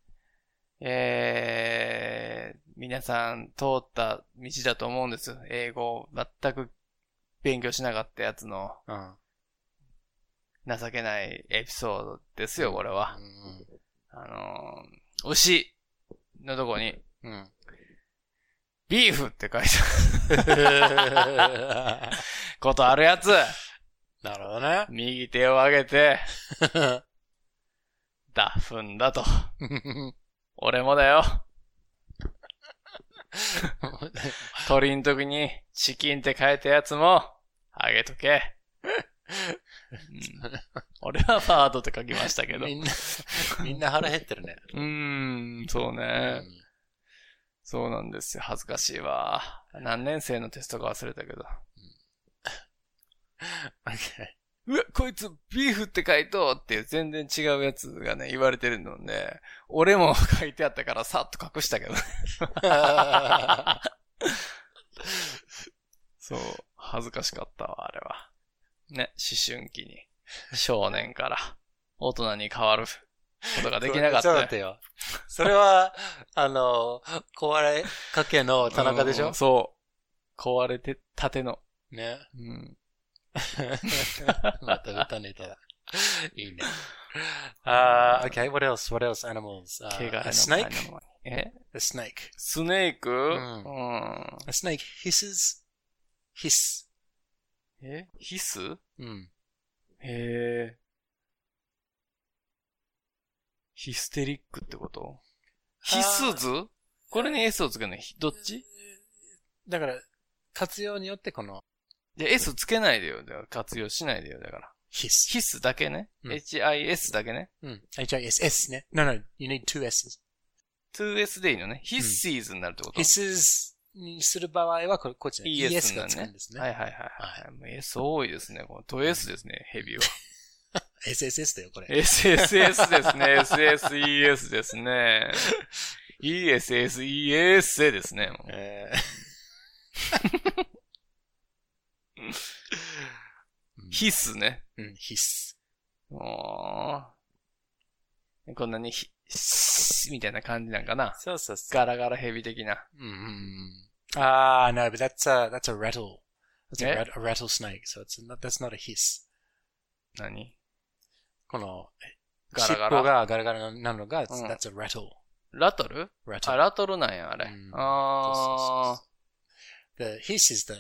えー、皆さん通った道だと思うんです。英語を全く勉強しなかったやつの、うん、情けないエピソードですよ、これは。うん、あのー、牛のとこに、うん、ビーフって書いてあることあるやつ。 なるほどね。 右手を上げて、だ、踏んだと。俺もだよ。鳥の時にチキンって書いたやつも、あげとけ。うん、俺はバードって書きましたけど。 みんな、みんな腹減ってるね。 うーん、そうね、うん。そうなんですよ。恥ずかしいわ。何年生のテストか忘れたけど。 Okay. うわ、こいつビーフって書いとっていう全然違うやつがね、言われてるので、俺も書いてあったからさっと隠したけどね。そう、恥ずかしかったわ、あれは。ね、思春期に、少年から大人に変わることができなかった。 そうだったよ。それは、あの、壊れかけの田中でしょ、うん、 そう。壊れてたての。 ね。うん。また歌ネタだ。いいね。Uh, okay, what else? What else? Animals. Uh, a snake? え A snake. スネーク、うんうん、A snake hisses. Hiss. えヒスうん。 へえ。ヒステリックってことヒスズこれに S をつけないどっちだから、活用によってこの、 じゃ S つけないでよ。だから活用しないでよ。だから。 ヒス。 ヒスだけね。うん、エイチアイエス だけね。 うん。エイチアイエス、S ね。No, no, you need two S's. two S でいいのね。hisses になるってこと、 うん、hisses にする場合は、これ、こっちね。 イエスがつくんですね。 はいはいはいはい。はい、S 多いですね。このと S ですね、ヘビは。 エスエスエス だよ、これ。 エスエスエス ですね。エスエスイーエス ですね。イーエスエスイーエス ですね。えーヒスね。 うん、ヒス。 おー。こんなにヒスみたいな感じなんかな。 そうそうそう。 ガラガラヘビ的な。 うんうんうん。あー、no, but that's a, that's a rattle. That's a, rat, a rattlesnake, so it's not, that's not a hiss. 何この、 ガラガラ。 尻尾がガラガラなのが、うん、that's a rattle. ラトル rattle. あ、ラトルなんや、あれ。うん、あー。The hiss is the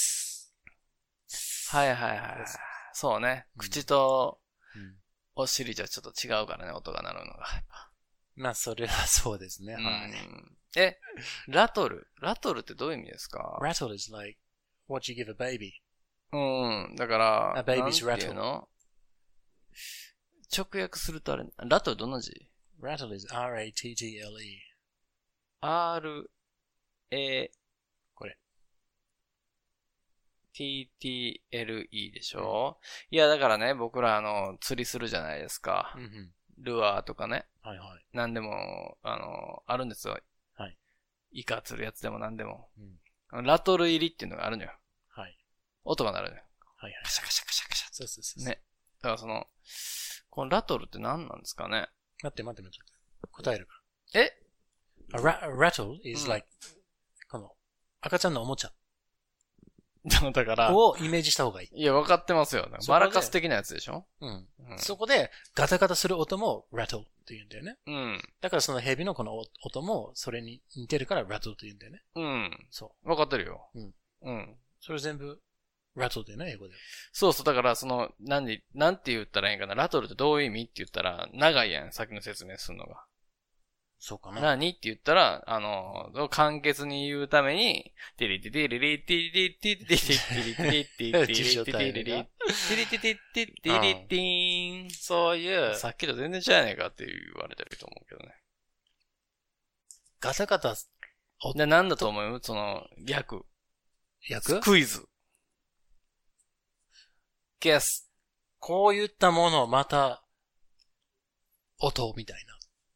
はいはいはい。そうね。うん、口とお尻じゃちょっと違うからね、音が鳴るのが。 まあ、それはそうですね。はい。 え、ラトルラトルってどういう意味ですか ?Rattle is like what you give a baby. うん。だから、 a baby's rattle. なんていうの直訳するとあれ、ラトルどんな字 ?Rattle is R A T T L E. R, A, これ。 ティーティーエルイー でしょ、うん、いや、だからね、僕らあの、釣りするじゃないですか。 うんうん、 ルアーとかね。 はいはい。 なんでも、あの、あるんですよ。 はい。 イカ釣るやつでもなんでも。 うん、 ラトル入りっていうのがあるのよ。 はい。 音が鳴るのよ。 はいはい。 カシャカシャカシャカシャ。 そうそうそう。 ね。だからその、このラトルって何なんですかね待って待って待って。答えるから。え a, ra- a rattle is like、うん、この、赤ちゃんのおもちゃ。 だから。 をイメージした方がいい。 いや、分かってますよ。マラカス的なやつでしょうん、うん。そこで、ガタガタする音も rattle って言うんだよね。 うん。 だからそのヘビのこの音も、それに似てるから rattle って言うんだよね。 うん。 そう。 分かってるよ。 うん。 うん。 それ全部、rattle だよね、英語で。 そうそう。だから、その、なんで、なんて言ったらいいんかな。ラトルってどういう意味って言ったら、長いやん。先の説明するのが。 そうかな。 何って言ったら、あの、簡潔に言うために、テリテテリリテリリテリテリテリテリテリテリテリテリテリテリテリテリテリン。そういう、さっきと全然違うやねんかって言われてると思うけどね。 ガタガタ。 で、なんだと思うその、訳。 訳クイズ。ゲス。 こういったもの、また、音みたいな。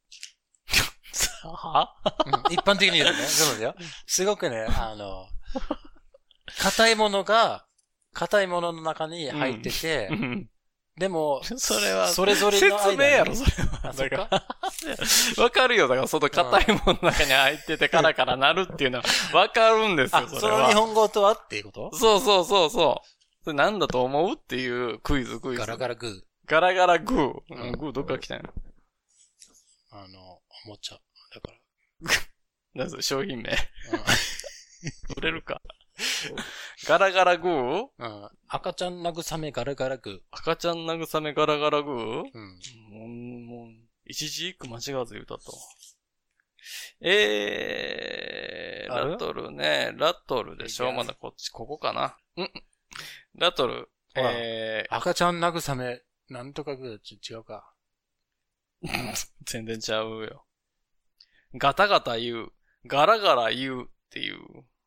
はうん、一般的に言うとね。そうだよ。すごくね、あの、硬いものが、硬いものの中に入ってて、 うん、 でも、 それは、 それぞれの間に説明やろ、それは。 あ、そっか。 わかるよ。だから、その硬いものの中に入っててカラカラなるっていうのは、わかるんですよ、 あ、 それは。 その日本語とはっていうこと？ そうそうそうそう。それなんだと思うっていうクイズ、クイズ。 ガラガラグー。 ガラガラグー。 ううんん、グーどっから来たんやろ。 あの、おもちゃ。だから。 なんそれ、商品名。 うん売れるか。ガラガラグーうん。赤ちゃん慰めガラガラグー。 赤ちゃん慰めガラガラグーうん。 もう、もう、一字一句間違わず言うたと。えー、 あるラトルね。ラトルでしょまだこっち、ここかな。うん。ラトル。 ほらえ赤ちゃん慰め、なんとかグー、ち違うか。 ー、全然ちゃうよ。ガタガタ言う。ガラガラ言うっていう。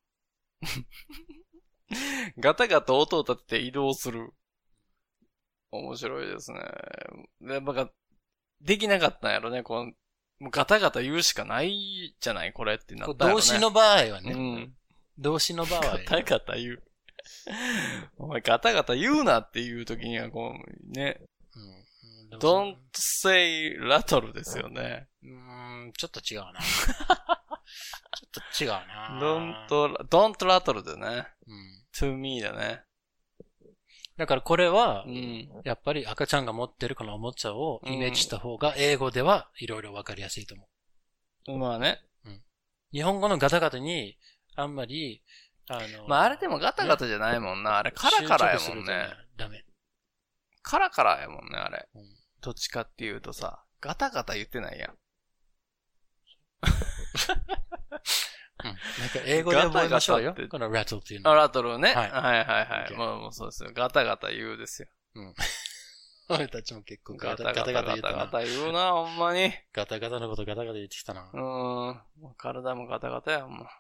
ガタガタ音を立てて移動する。面白いですね。で、なんか、できなかったんやろね。こうもうガタガタ言うしかないじゃないこれってなったんやろね。 動詞の場合はね。 うん。 動詞の場合。 ガタガタ言う。お前ガタガタ言うなっていう時にはこう、ね。 うん、 don't say rattle ですよね。 うーん、ちょっと違うな。ちょっと違うな。 don't, don't rattle だね。 うん。 to me だね。 だからこれは、 うん。 やっぱり赤ちゃんが持ってるこのおもちゃをイメージした方が英語ではいろいろわかりやすいと思う。 まあね。 日本語のガタガタにあんまり、あの、 まああれでもガタガタじゃないもんな。あれカラカラやもんね。 ダメ。 カラカラやもんね、あれ。 うん、 どっちかっていうとさ、ガタガタ言ってないやん。 うん、なんか英語で覚えましょうよ。 ガタガタってこの rattle っていうの。 あ、ラトルね。 はいはいはいはい。 OK もうもうそうですよ。ガタガタ言うですよ。 うん。俺たちも結構ガガタガタタガタガ言ったな。 タガタ言うな、ほんまに。 ガタガタのことガタガタ言ってきたな。 うーん。もう体もガタガタや、ほんま。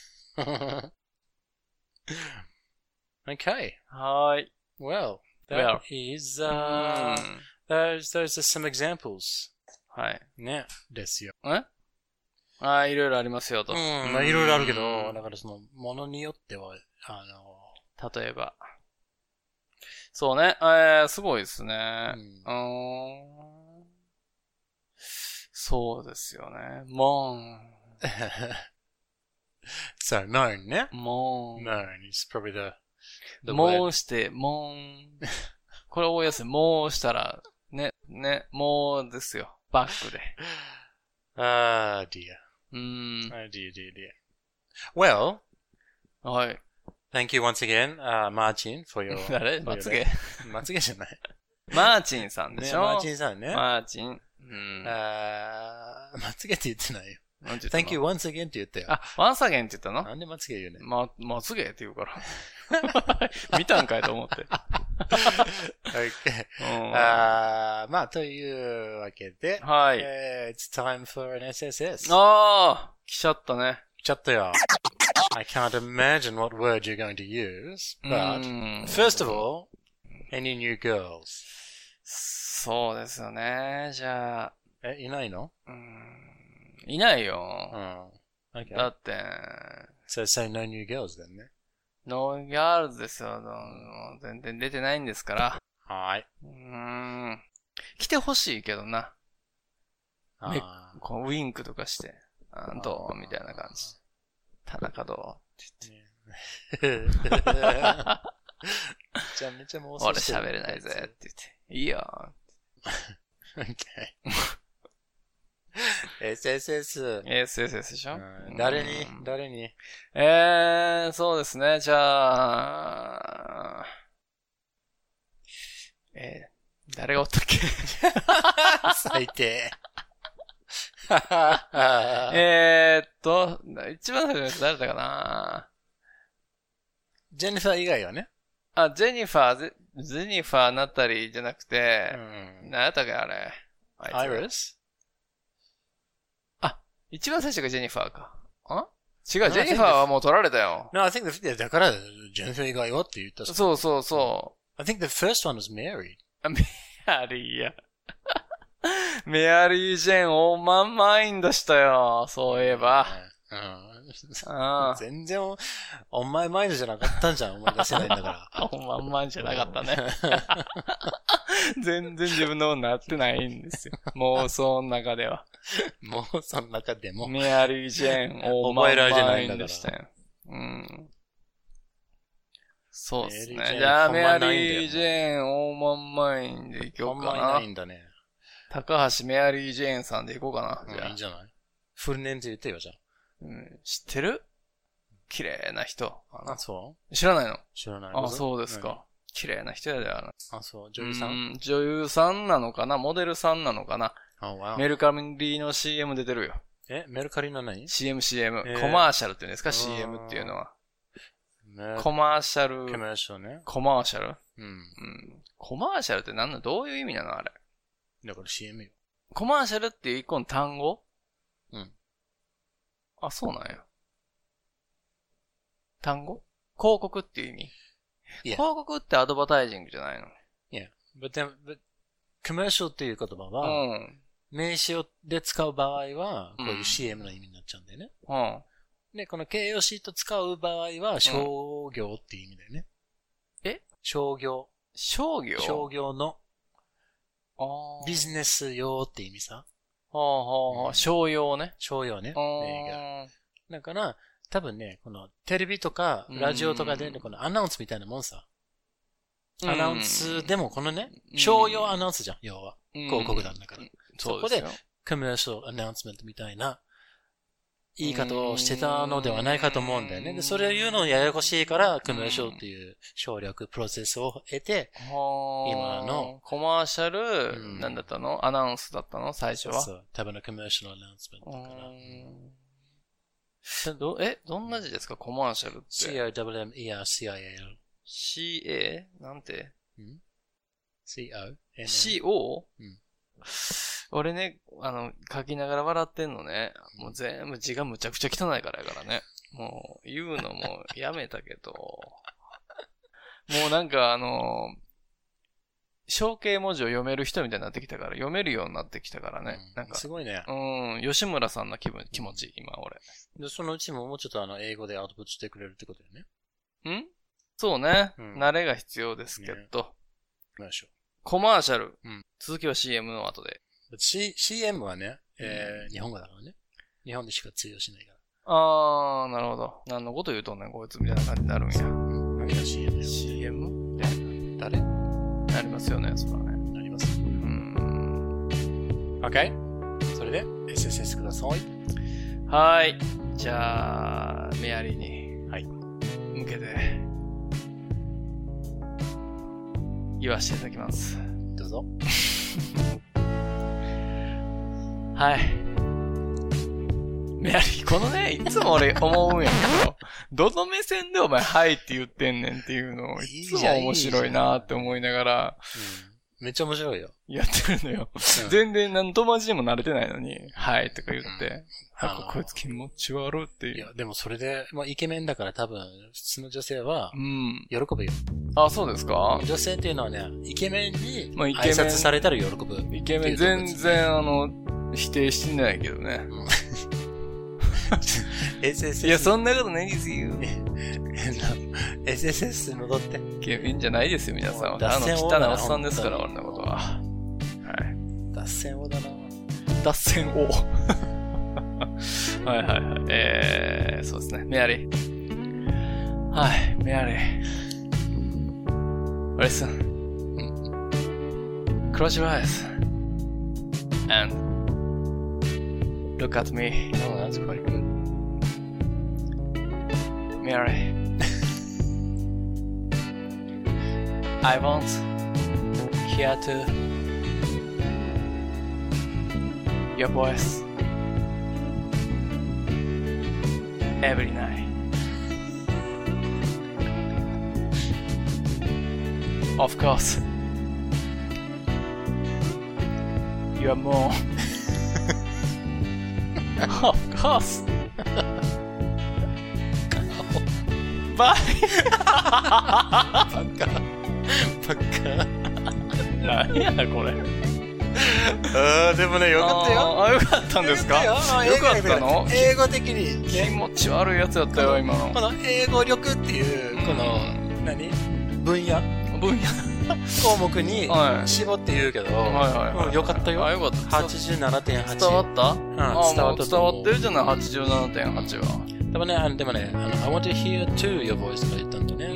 Okay. はーい。 Well, that Well. is, う uh, ーん those, those are some examples. はい。 ね。ですよ。 えああ、いろいろありますよと。 うん。まあいろいろあるけど、 うんだからその、ものによっては、あの、 例えば。そうね。えー、すごいですね。 ううーん。そうですよね。もん。 so, moan ね。 もん。 moan is probably the, the も word. うして、もん。これ覚えやすい。もうしたら、ね、ね、もうですよ。バックで。 Ah, dear. うーん。 Oh, dear, dear, dear. Well, はい。 thank you once again, uh, Martin, for your... 誰 for your- まつげまつげじゃない。 マーチンさんでね、 しょ、 マーチンさんね。 マーチン。うん。 あーまつげって言ってないよ。 なんて言ったの Thank you once again って言ったよ。 あ、ワンサゲンって言ったのなんでまつげ言うね。 ま、まつげって言うから。見たんかいと思って。 Okay. うんあーまあ、というわけで、 はい。 えー it's time for an エスエスエス。 ああ来ちゃったね。 来ちゃったよ。I can't imagine what word you're going to use, う but ん first of all, any new girls? そうですよね。じゃあ、 え、いないの？ うんいないよ。 うん。Okay. だって、 So say no new girls then ね。 ノーギャールズですよ。もう全然出てないんですから。 はい。 うーん。来てほしいけどな。めあこうウィンクとかして、あどうみたいな感じ。田中どうーめちゃめちゃ妄想俺してる喋れないぜって言って。いいよ。 Okay. エスエスエス。 エスエスエス でしょ、 うん誰にうん誰にえー、そうですね。じゃあ、えー、誰がおったっけ最低。 えーっと、一番最初の人誰だかなジェニファー以外はね。 あ、ジェニファー、ゼジェニファーナタリーじゃなくて、 うん何やったっけあれ。あいつアイリス一番最初がジェニファーか。あ違う、ジェニファーはもう取られたよ。 No, I think the, だから、ジェニファー以外はって言った。 そうそうそ I think the first one was Mary. う。メアリーや。メアリー・ジェーン、オーマンマインドしたよ。そういえば。 うん。 あ全然お、お前マインドじゃなかったんじゃん。思い出せないんだから。 ほんまんまんじゃなかったね。全然自分のものなってないんですよ。妄想の中では。 もうその中でも。 メアリー・ジェーン、オーマンマインでしたよ。うん。そうですね。じゃあ、メアリー・ジェーン、オーマンマインでいこうかな。 ほんまにないんだね。 高橋メアリー・ジェーンさんでいこうかな。 じゃあ。いいんじゃない？フルネームで言ってよ、じゃあ。 うん、知ってる？綺麗な人。 あ、そう知らないの？ 知らない。 あ、そうですか。綺麗な人やで、あの。 あ、そう。女優さん？うん、 女優さんなのかな？モデルさんなのかな？ あ、わ。 メルカリの シーエム 出てるよ。 え、メルカリの何？ シーエム、シーエム、えー。コマーシャルって言うんですか？ シーエム っていうのは。コマーシャル。 コマーシャルね。 コマーシャル？ うん。うん。 コマーシャルって何の、どういう意味なのあれ。 だから シーエム よ。 コマーシャルっていう一個の単語？ うん。 あ、そうなんや。単語？広告っていう意味？ Yeah. 広告ってアドバタイジングじゃないの？ Yeah. But then, but, commercial っていう言葉は、うん、名詞で使う場合は、こういう シーエム の意味になっちゃうんだよね。 うん。 で、この形容詞と使う場合は、商業っていう意味だよね。 うん、え？ 商業。 商業？ 商業の、ビジネス用って意味さ。 はあはあはあ、商用ね。 商用ね。だから、多分ね、このテレビとかラジオとかで、ね、このアナウンスみたいなもんさ。アナウンスでもこのね、商用アナウンスじゃん、要は。広告なんだから。そこで、コメーシャルアナウンスメントみたいな言い方をしてたのではないかと思うんだよね。で、それを言うのややこしいから、コメーシャルっていう省略プロセスを得て、今の。 コマーシャル、うん、なんだったの？アナウンスだったの最初は。 そうそう。多分のコメーシャルアナウンスメントだから。 ど、え、どんな字ですかコマーシャルって。 シー アール ダブリュー エム イー アール シー アイ エル。 シー エー? なんて、 ん ?シー オー? シー オー? うん。 俺ね、あの、書きながら笑ってんのね。もう全部字がむちゃくちゃ汚いからやからね。もう、言うのもやめたけど。もうなんかあの、象形文字を読める人みたいになってきたから、読めるようになってきたからね。うん、なんか。 すごいね。 うん、吉村さんの気分、気持ち、今俺。 で、そのうちももうちょっとあの、英語でアウトプットしてくれるってことよね。 んそうね、うん。慣れが必要ですけど。ね、コマーシャル。うん、続きは シーエム の後で。 C、シーエム はね、えー、日本語だからね。日本でしか通用しないから。 あー、なるほど。何のこと言うとんねん、こいつみたいな感じになるんや。 何が シーエム よ。 シーエム? で、誰なりますよね、それはね。 なります。うん。OK? それで、エスエスエス ください。 はい。じゃあ、メアリーに。 はい。 向けて、言わせていただきます。 どうぞ。 はい。メアリー、このね、いつも俺思うんやけど、どの目線でお前、はいって言ってんねんっていうのを、いつも面白いなって思いながら、 うん、めっちゃ面白いよ。 やってるのよ。うん、全然何友達にも慣れてないのに、はいとか言って、うん、あこいつ気持ち悪いっていう。 いや、でもそれで、まあ、イケメンだから多分、普通の女性は、うん。喜ぶよ。 あ、そうですか？ 女性っていうのはね、イケメンに、挨拶されたら喜ぶ。 イケメン全然、あの、否定してないけどね。うんエスエスエスいや、そんなことないですよ。 エスエスエス 戻って。 イケメンじゃないですよ、皆さんは。あの、汚いおっさんですから、俺のことは。はい。 脱線王だな。 脱線王。はいはいはい。えー、そうですね。メアリー。はい、メアリー。Listen. Close your eyes. And look at me. Oh, that's quite good. Mary. I want hear to your voice every night. Of course, you are more. Of course. Bye. バカ。バカ。 何やこれ。 あでもね、よかったよ。 あ、よかったんですか？よかったの？ 英語的に。 気持ち悪いやつやったよ、今の。 この英語力っていう、この、何分野分野項目に絞って言うけど、よかったよ。 よかった。 はちじゅうななてんはち。 伝わった？うん、伝わった。 伝わってるじゃない、はちじゅうななてんはちは。 でもね、あのでもね、あの、I want to hear to your voice とか言ったんだね。うん。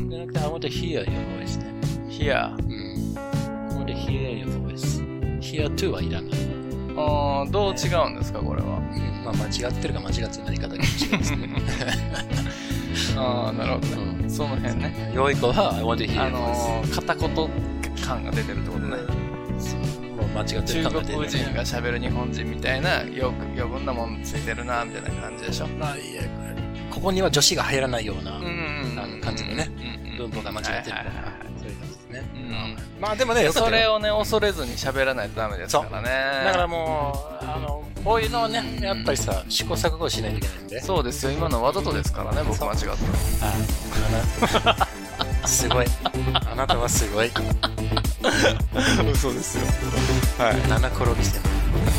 じゃなくて、I want to hear your voice ね。 hear。 うん。I want to hear your voice。hear to はいらない。 ああ、どう違うんですか、これは。 うん、まあ、間違ってるか間違ってない方が違いですね。 ああ、なるほどね。その辺ね。 良い子は、I want to hear your voice。 あのー、片言感が出てるってことね。 もう間違ってる中国人が喋る日本人みたいな、よく余分なもんついてるな、みたいな感じでしょ。 まあ、いや、ここには女子が入らないような、あの感じのね、文法が間違ってるから。そういう感じですね。まあでもね、 それをね、恐れずに喋らないとダメですからね。 だからもう、あの、こういうのをね、やっぱりさ、試行錯誤しないといけないんで。 そうですよ、今のわざとですからね、僕間違ったら。すごい。あなたはすごい。 嘘ですよ。はい。 七転びしてる。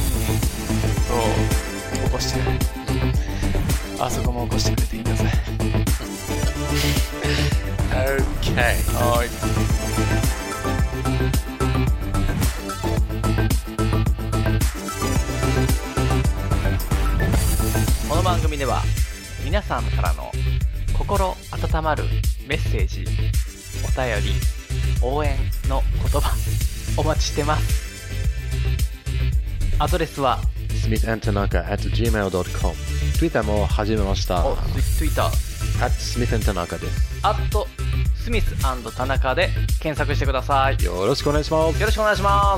そう。起こしてくれ。あそこも起こしてくれていいんだぜ。 OK。 はい。この番組では皆さんからの心温まるメッセージ、お便り、応援の言葉お待ちしてます。アドレスはスミス アンド タナカ at ジーメール ドットコム。 Twitter も始めました。 お、Twitter at スミス アンド タナカ です。 at スミス アンド タナカで検索してください。 よろしくお願いします。 よろしくお願いします。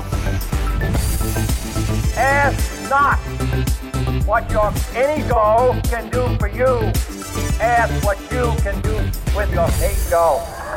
Ask not what your any doll can do for you. Ask what you can do with your eight doll.